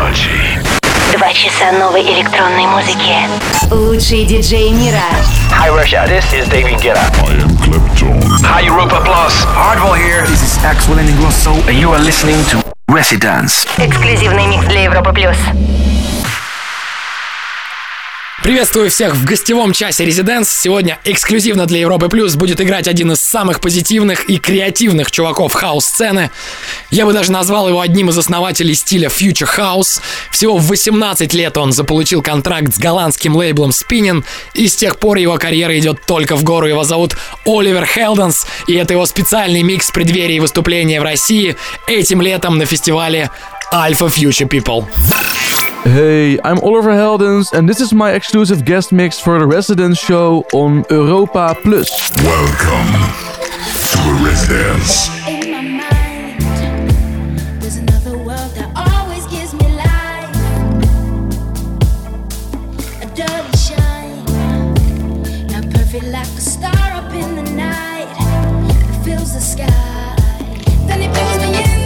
Technology. 2 часа новой электронной музыки. Лучшие диджеи мира. Hi Russia, this is David Guetta. I am Clapton. Hi Europa Plus. Hardwell here. This is Axel Ingrosso, and you are listening to Residence. Эксклюзивный микс для Европы плюс. Приветствую всех в гостевом часе Residence. Сегодня эксклюзивно для Европы Плюс будет играть один из самых позитивных и креативных чуваков хаус-сцены. Я бы даже назвал его одним из основателей стиля Future House. Всего в 18 лет он заполучил контракт с голландским лейблом Spinnin', и с тех пор его карьера идет только в гору. Его зовут Оливер Хелденс, и это его специальный микс в преддверии выступления в России этим летом на фестивале Alpha Future People. Hey, I'm Oliver Heldens and this is my exclusive guest mix for the Residence show on Europa Plus. Welcome to the Residence. In my mind, there's another world that always gives me life. A dirty shine, not perfect like a star up in the night that fills the sky. Then it brings me in.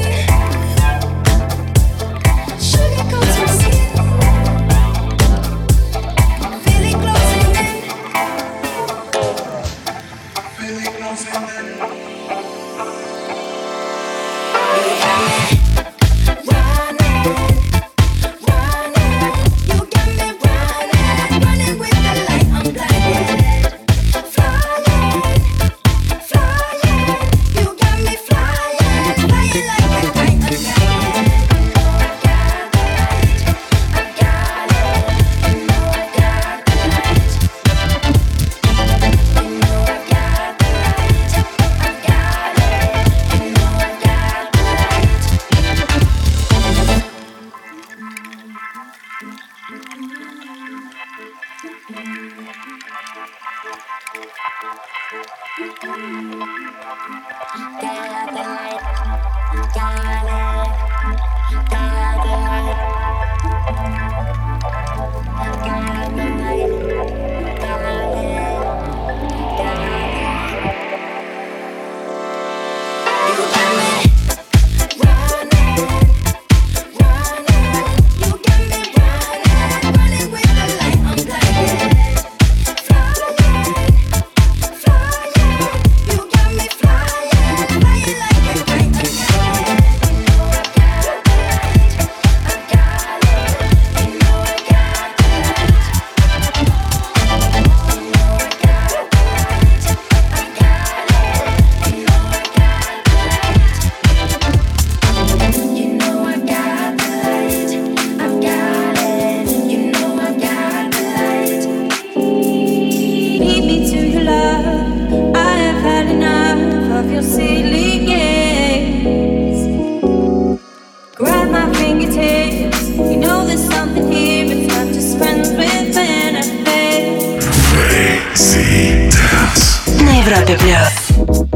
Sugar coats my skin. Feel it closing in. Feel it closing in. На Европе плюс.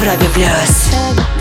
Европе плюс.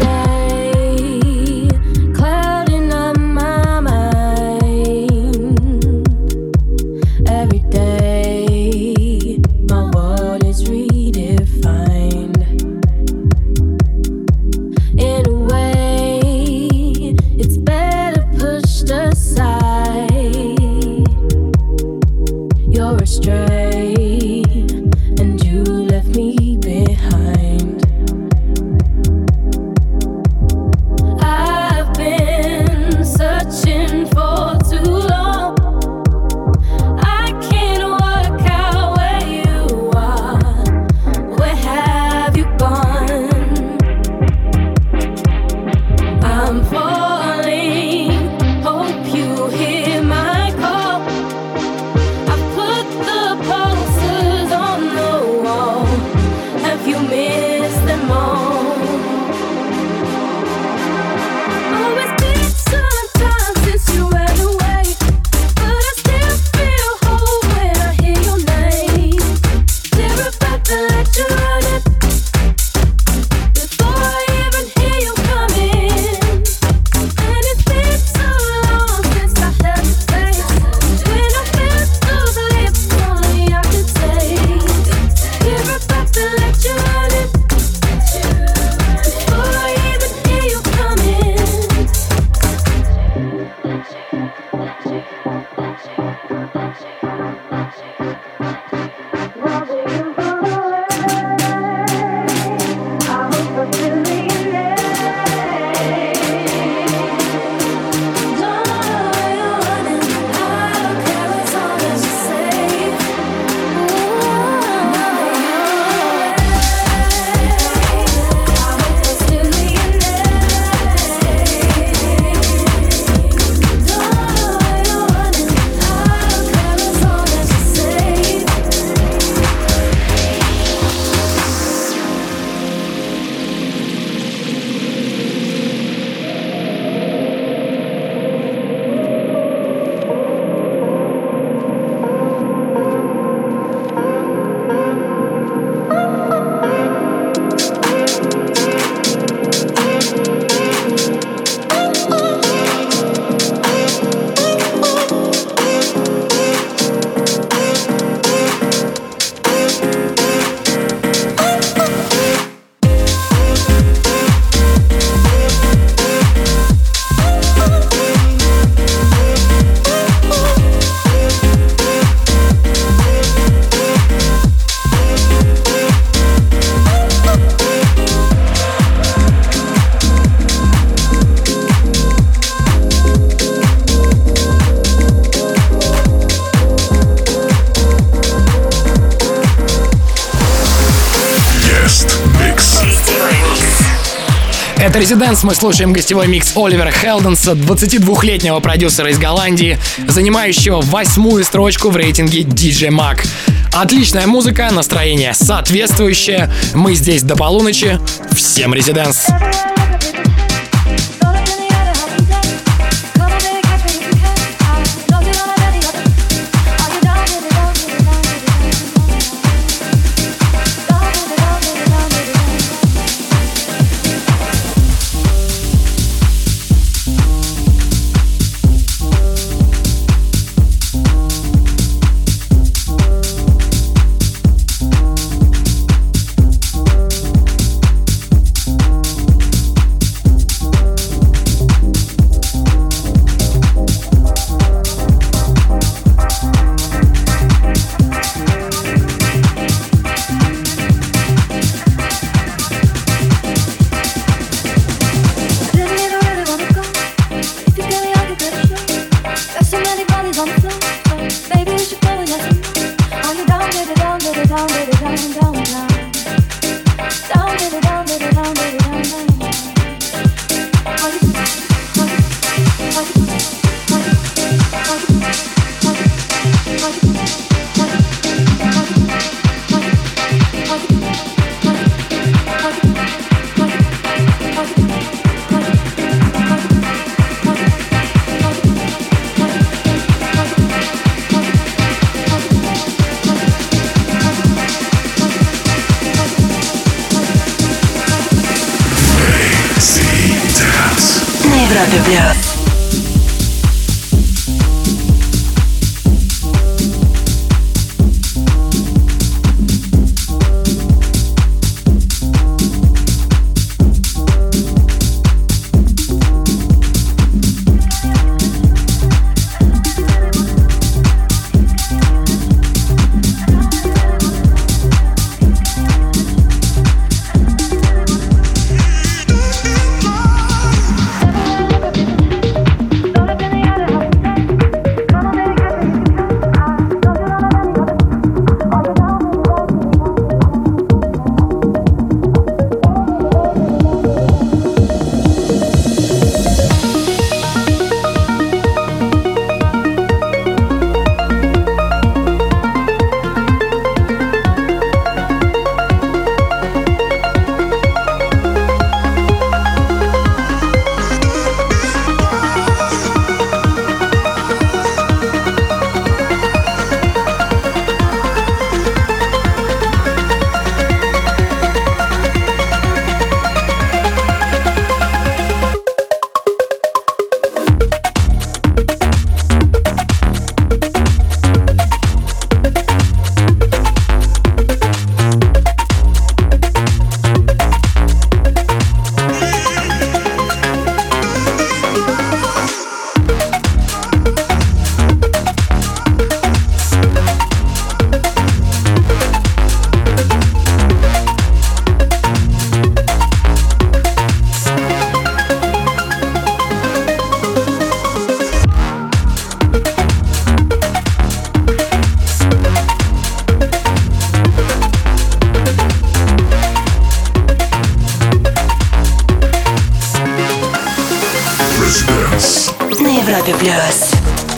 Это Residence, мы слушаем гостевой микс Оливера Хелденса, 22-летнего продюсера из Голландии, занимающего 8-ю строчку в рейтинге DJ Mag. Отличная музыка, настроение соответствующее. Мы здесь до полуночи. Всем Residence! Европе плюс. На Европе плюс.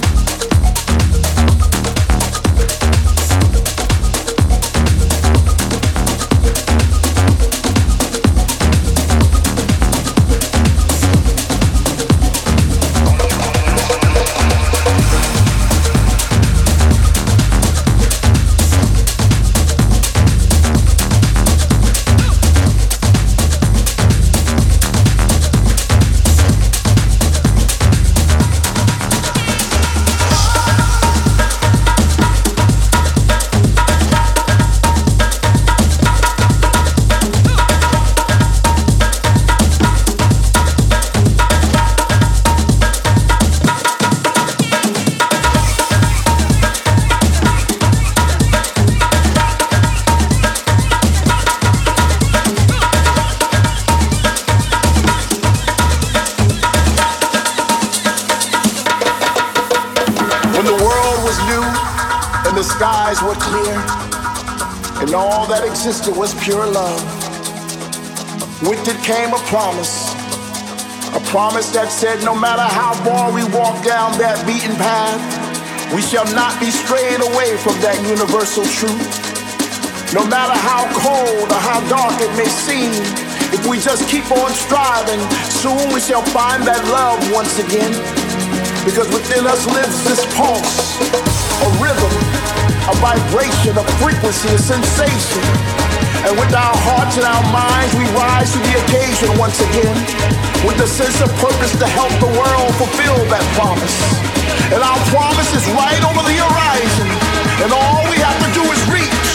Were clear, and all that existed was pure love. With it came a promise that said no matter how far we walk down that beaten path, we shall not be strayed away from that universal truth. No matter how cold or how dark it may seem, if we just keep on striving, soon we shall find that love once again. Because within us lives this pulse, a rhythm, a vibration, a frequency, a sensation. And with our hearts and our minds, we rise to the occasion once again, with a sense of purpose to help the world fulfill that promise. And our promise is right over the horizon. And all we have to do is reach,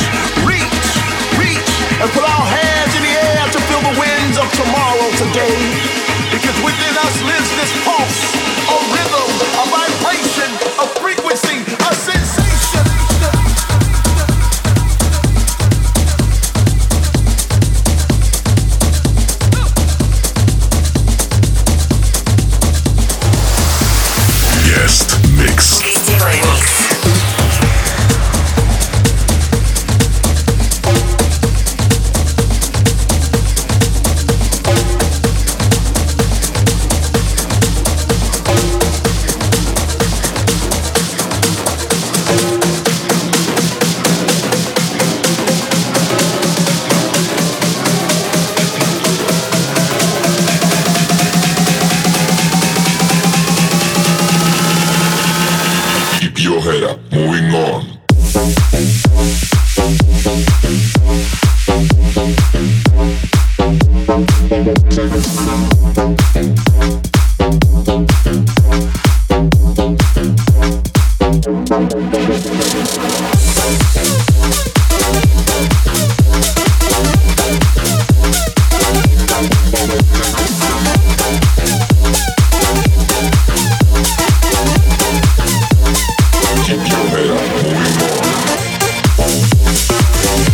and put our hands in the air to feel the winds of tomorrow today. Because within us lives this pulse, a rhythm, a vibration, a frequency, a sensation. Guest mix. Гостевой микс.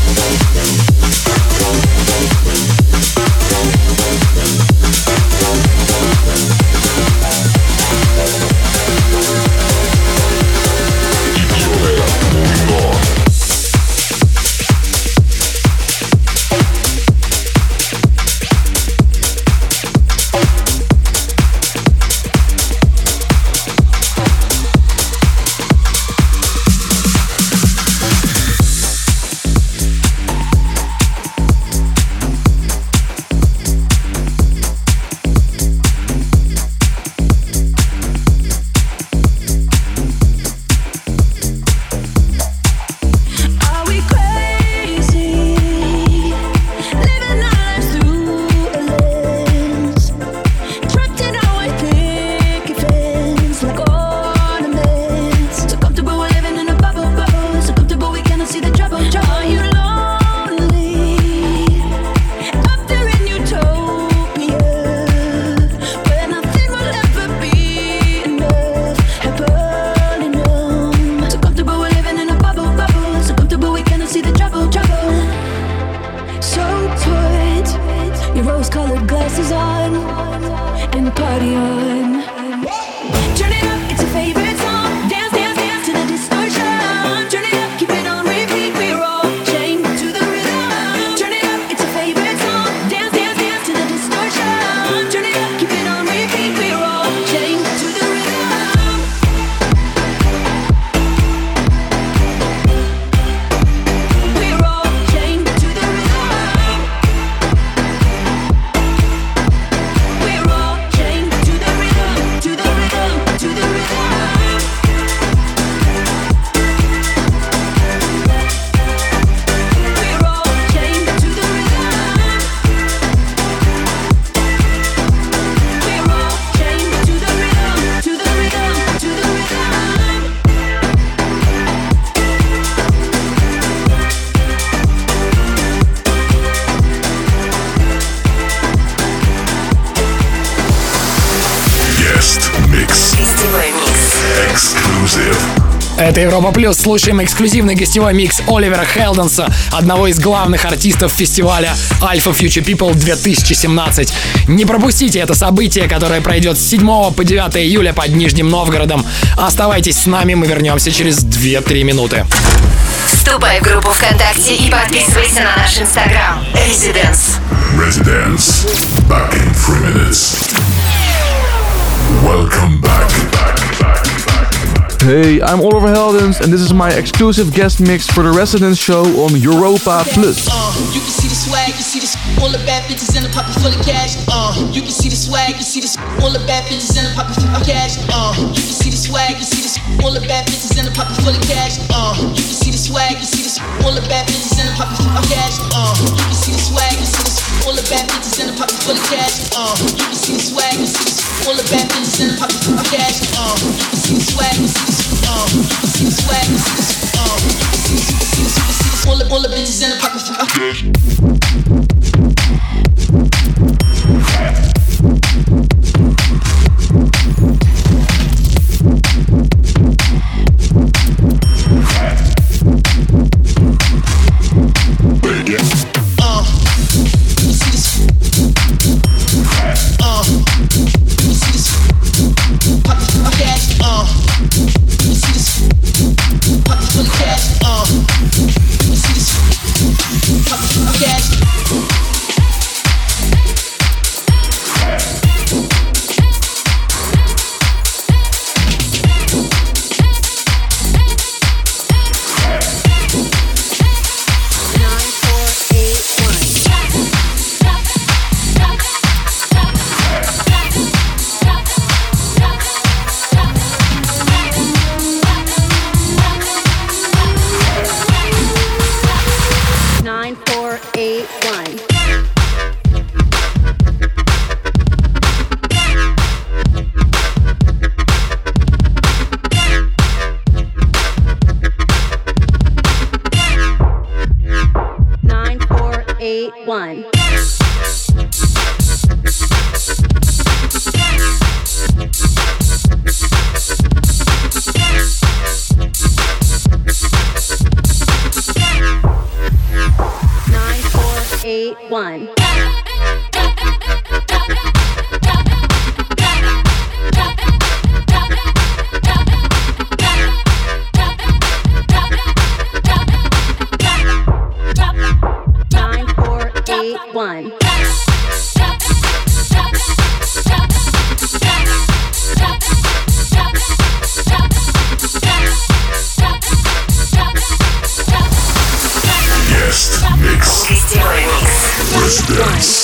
Это Европа Плюс. Слушаем эксклюзивный гостевой микс Оливера Хелденса, одного из главных артистов фестиваля Alpha Future People 2017. Не пропустите это событие, которое пройдет с 7 по 9 июля под Нижним Новгородом. Оставайтесь с нами, мы вернемся через 2-3 минуты. Вступай в группу ВКонтакте и подписывайся на наш Инстаграм. Residence. Residence. Back in 3 minutes. Welcome back. Hey, I'm Oliver Heldens, and this is my exclusive guest mix for the Residence show on Europa Plus. You can see the swag, you see the all the bad bitches in the pocket full of cash. You can see the swag, you see the all the bad bitches in the pocket full of cash. You can see the swag, you see the all the bad bitches in the pocket full of cash. You can see the swag, you see the all the bad bitches in the pocket full of cash. You can see the swag, you see the all the bad bitches in the pocket full of cash. You can see the swag, you see the all the bad bitches in the pocket full of cash. You can see the swag, you see the you can see the swag, you see the all the bitches in the pocket full of cash. 9-4-8-1. One. Guest mix. Гостевой микс. Residence.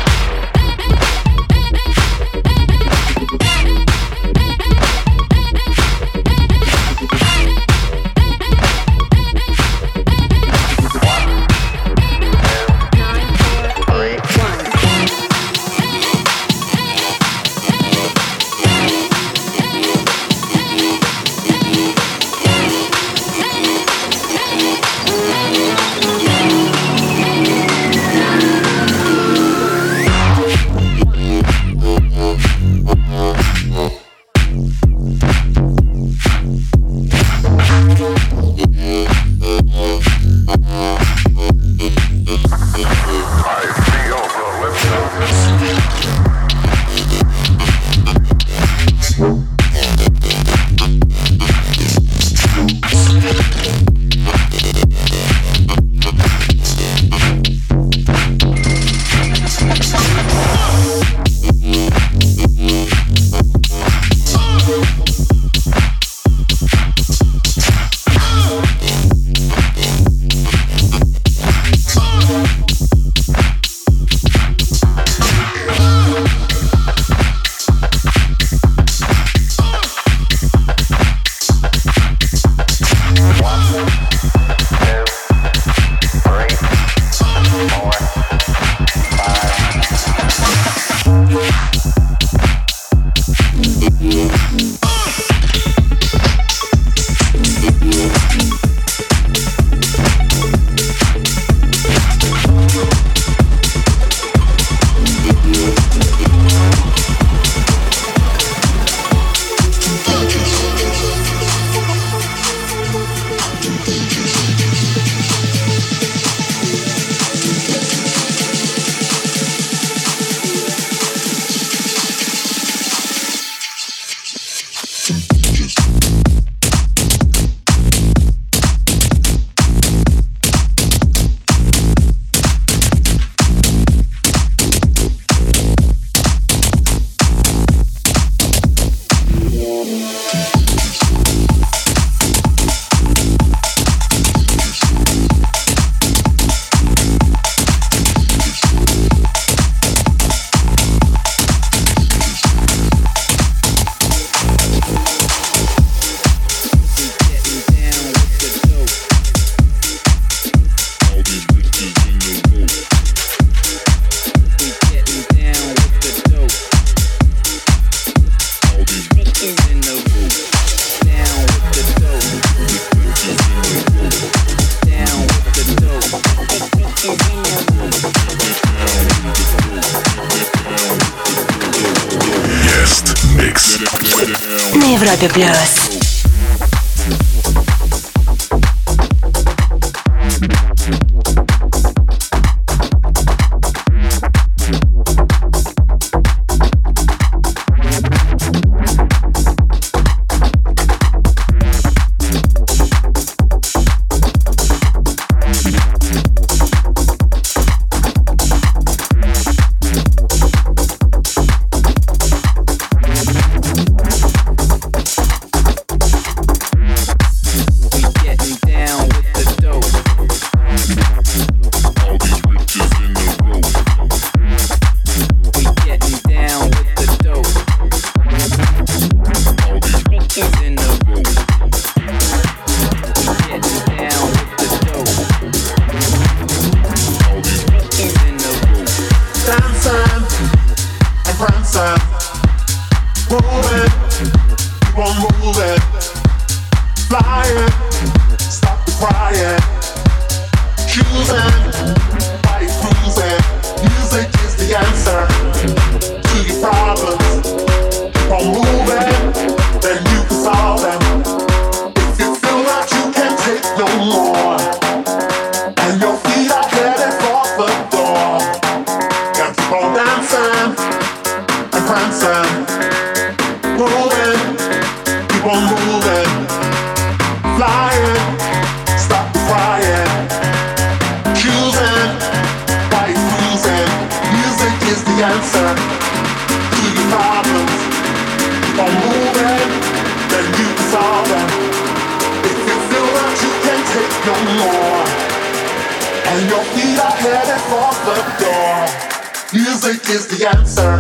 На Европе плюс. And your feet are headed for the door. answer to your problems. Keep on moving, then you can solve them. If you feel that you can't take no more, and your feet are headed for the door, music is the answer.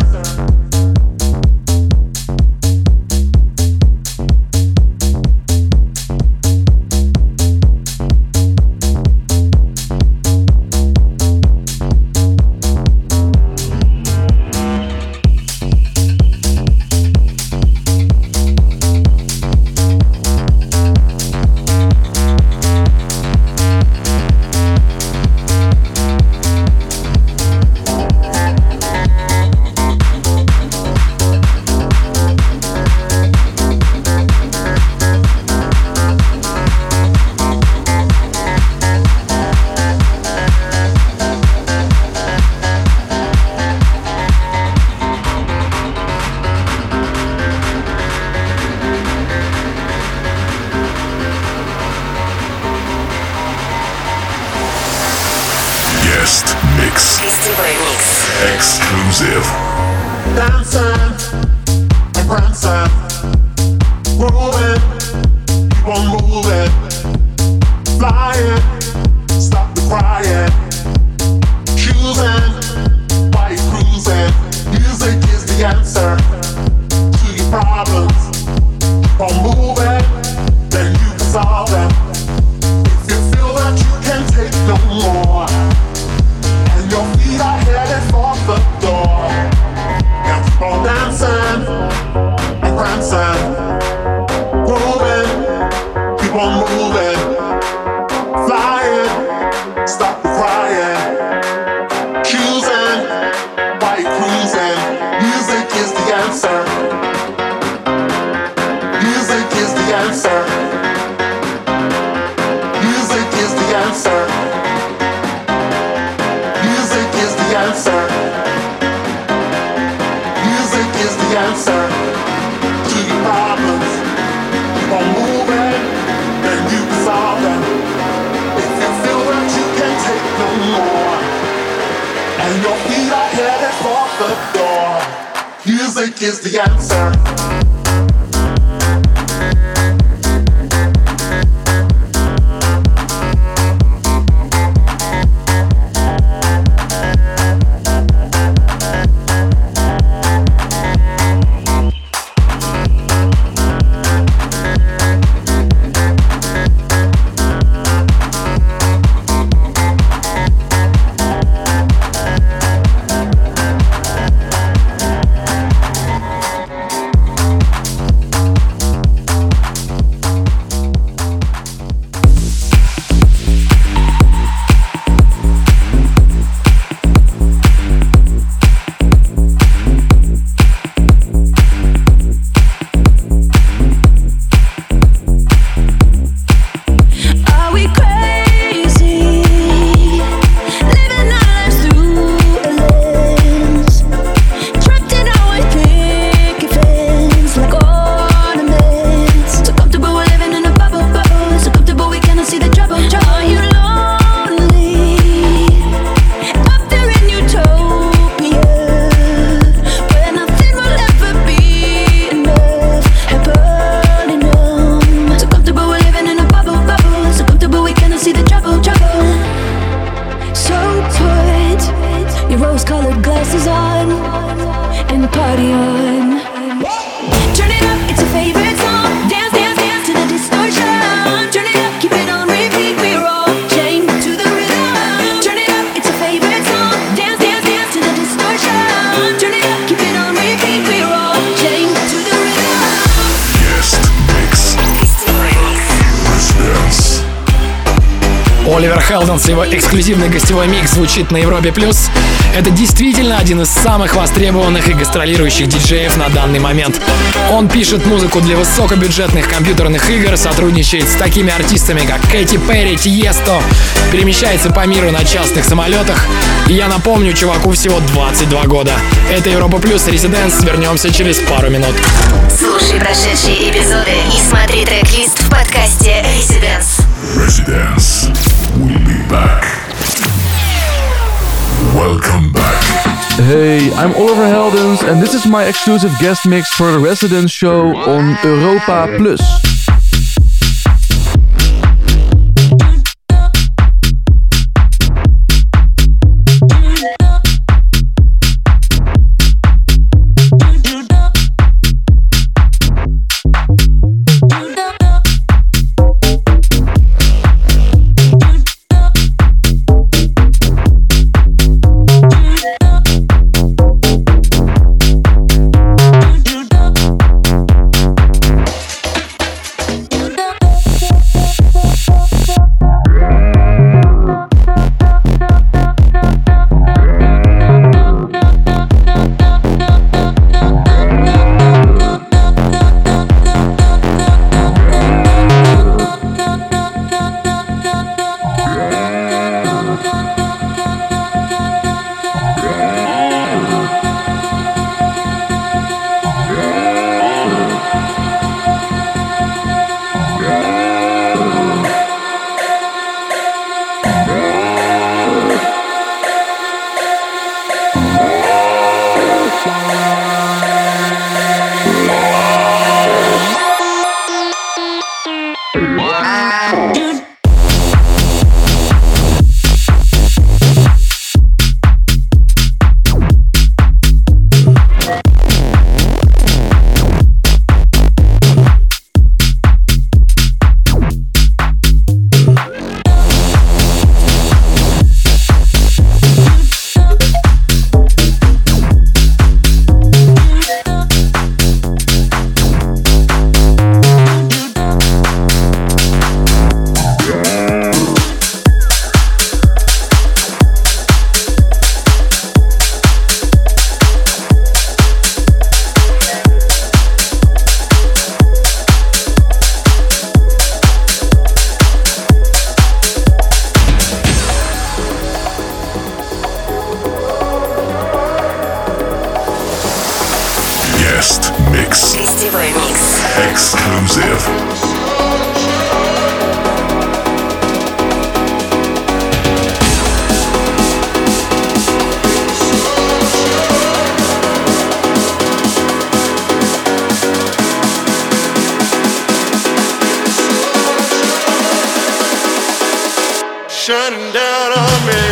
Exclusive. Dancing and prancing, growing, keep on moving, flying, stop the crying, choosing, why you cruising. Music is the answer to your problems. Keep on moving, then you can solve them. If you feel that you can't take no more, and your feet are headed for the door, and keep on dancing and prancing, moving, keep on moving, flying, stop the crying, choosing, why you cruising. Music is the answer. Music is the answer. Music is the answer. Music is the answer. Music is the answer to your problems. Keep on moving, then you can solve them. If you feel that you can't take no more, and your feet are headed for the door, music is the answer. Оливер Хелденс, его эксклюзивный гостевой микс звучит на Европе+. Это действительно один из самых востребованных и гастролирующих диджеев на данный момент. Он пишет музыку для высокобюджетных компьютерных игр, сотрудничает с такими артистами, как Кэти Перри, Тиесто, перемещается по миру на частных самолетах. И я напомню, чуваку всего 22 года. Это Европа+, Residence. Вернемся через пару минут. Слушай прошедшие эпизоды и смотри трек-лист в подкасте Residence. Residence. We'll be back. Welcome back. Hey, I'm Oliver Heldens and this is my exclusive guest mix for the Residence Show on Europa Plus. Shining down on me.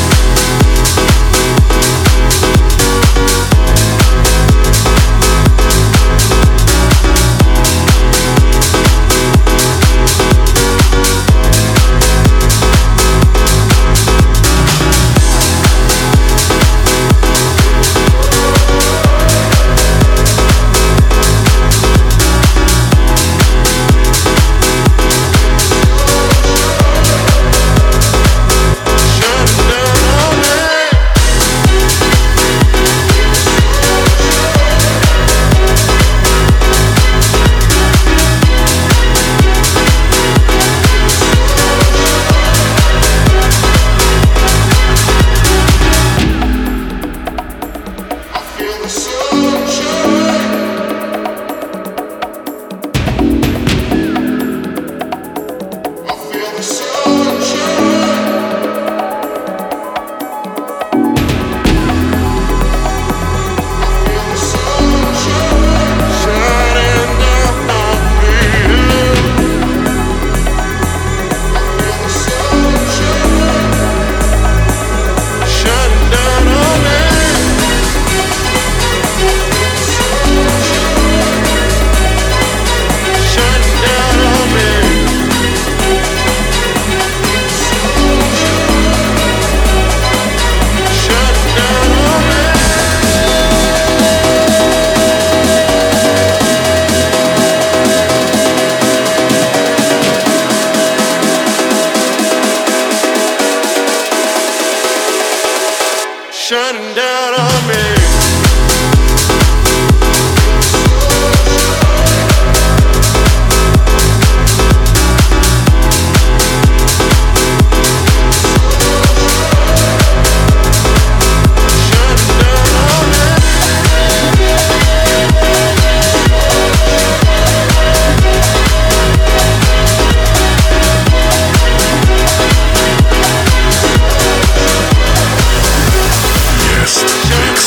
Shining down on me. Guest mix.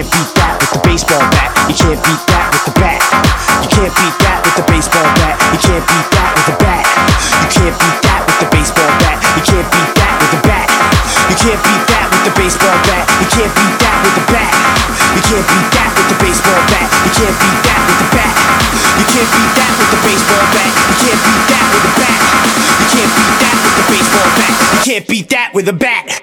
can't beat that with the baseball bat. You can't beat that with the bat. You can't beat that with the baseball bat. You can't beat that with the bat. You can't beat that with the baseball bat. You can't beat that with the bat. You can't beat that with the baseball bat. You can't beat that with the bat. You can't beat that with the baseball bat. You can't beat that with the bat. You can't beat that with the baseball bat. You can't beat that with the bat. You can't beat that with the baseball bat. You can't beat that with a bat.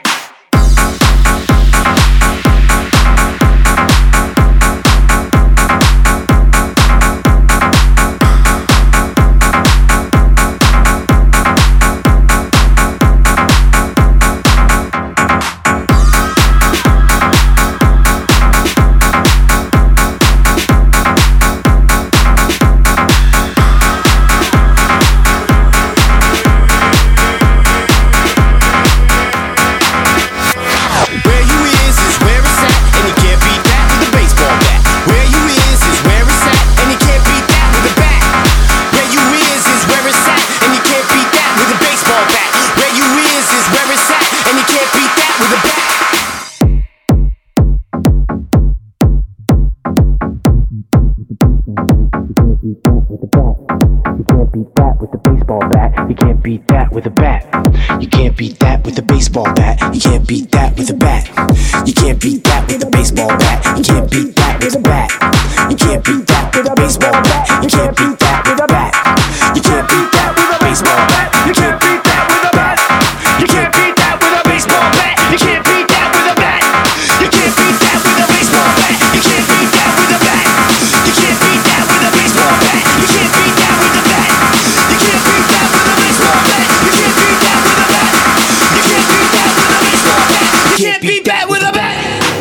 You can't beat that with a bat. You can't beat that with a baseball bat. You can't beat that with a bat. You can't beat that with a baseball bat. You can't beat that with a bat. You can't beat that with a baseball bat. You can't beat that with a bat. You can't beat that with a baseball bat. You can't beat that with a bat. You can't beat that with a baseball bat. You can't beat that with a bat. You can't beat that with a baseball bat. You can't beat that with a bat. You can't beat that with a baseball bat. You can't beat that with a bat. You can't beat that with a baseball bat. You can't beat that with a bat. You can't beat that with a baseball bat. You can't beat that with a bat.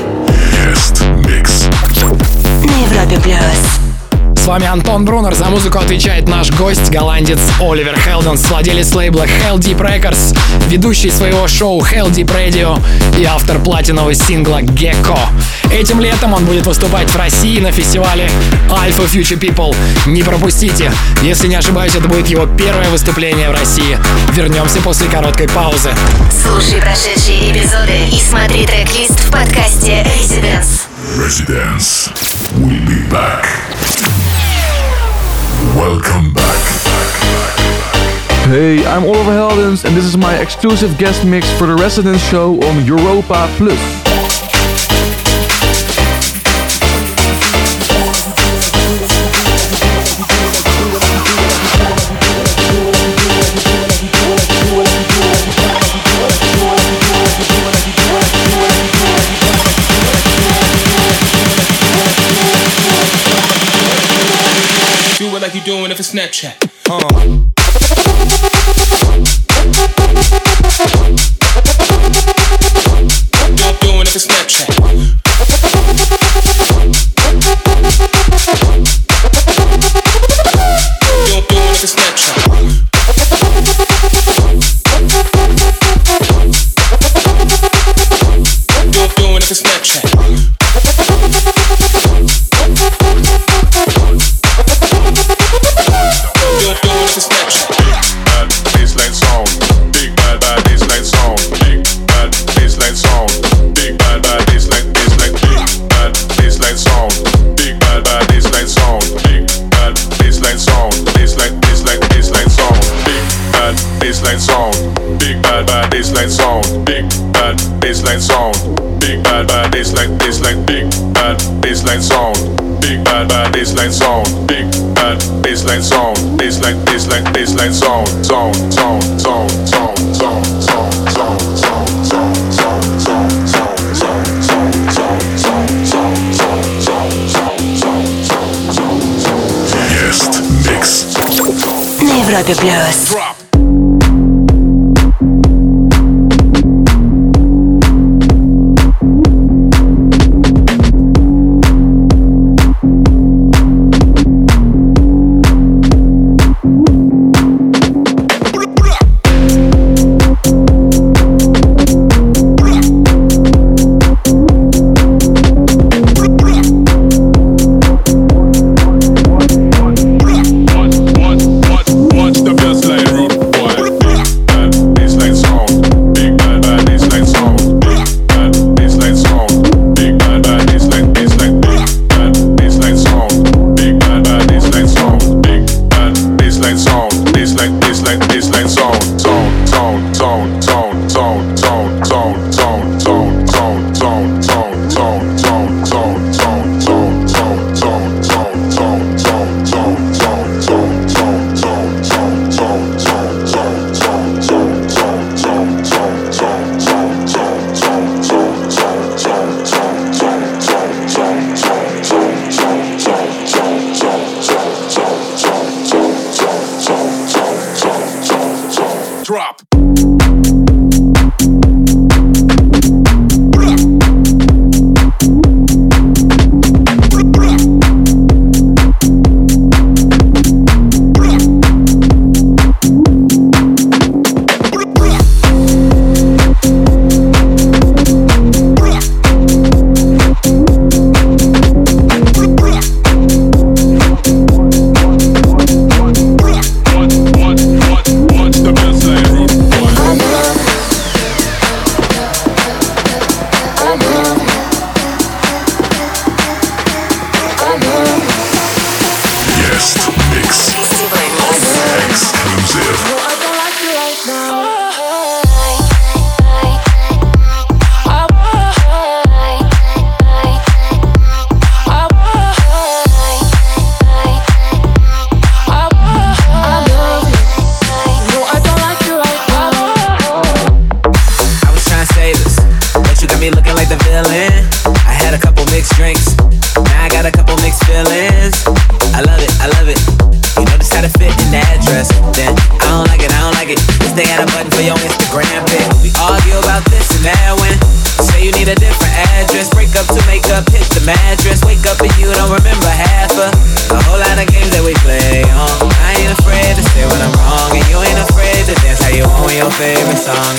Guest mix. На Европе Плюс. С вами Антон Брунер, за музыку отвечает наш гость, голландец Оливер Хелденс, владелец лейбла Hell Deep Records, ведущий своего шоу Hell Deep Radio и автор платинового сингла Gecko. Этим летом он будет выступать в России на фестивале Alpha Future People. Не пропустите, если не ошибаюсь, это будет его первое выступление в России. Вернемся после короткой паузы. Слушай прошедшие эпизоды и смотри трек-лист в подкасте Residence. Residence. We'll be back. Welcome back. Hey, I'm Oliver Heldens and this is my exclusive guest mix for the Residence show on Europa Plus. Do it like you're doing it for Snapchat. Doing it for Snapchat. Doing it for Snapchat. Doing it for Snapchat. Baseline sound, big bad baseline sound, big bad baseline sound, big bad baseline big bad baseline sound, big bad baseline sound, big bad baseline sound, baseline sound, sound. Guest mix. На Европе Плюс. What's the best line route?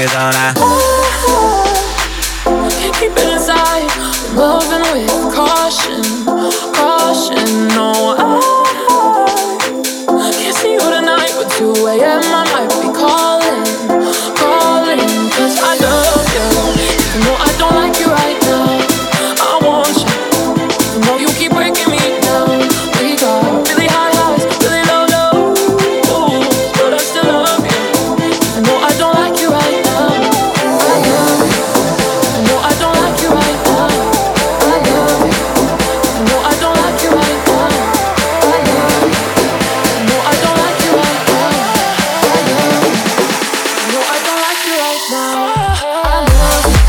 is on. Can't keep it inside. Moving with caution, caution. No, I can't see you tonight, but 2 a.m. I might be calling, calling. 'Cause I love you, even though I don't like you right now. I want you, even though you keep breaking me down. We got really high highs, really low lows, but I still love you, even though I don't like you right now. I love you, even though I don't like you right now. I love you, even though I don't like you right now. I love you, even though I don't like you right now. I love you, even though I don't like you right now. I love you.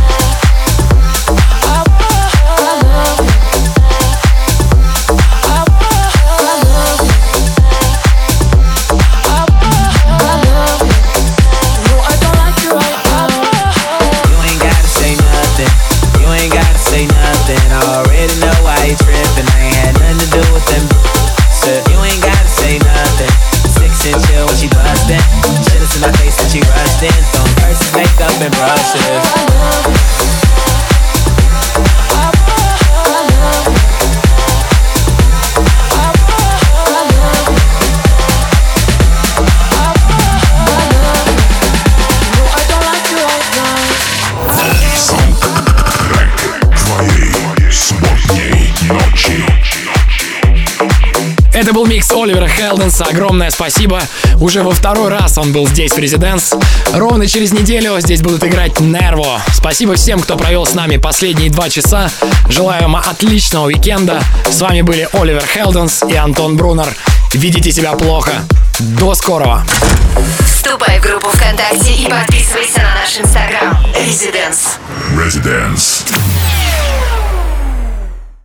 And brushes. Это был микс Оливера Хелденса. Огромное спасибо. Уже во второй раз он был здесь в Резиденс. Ровно через неделю здесь будут играть Нерво. Спасибо всем, кто провел с нами последние 2 часа. Желаю вам отличного уикенда. С вами были Оливер Хелденс и Антон Брунер. Ведите себя плохо. До скорого. Вступай в группу ВКонтакте и подписывайся на наш Инстаграм. Резиденс. Residence.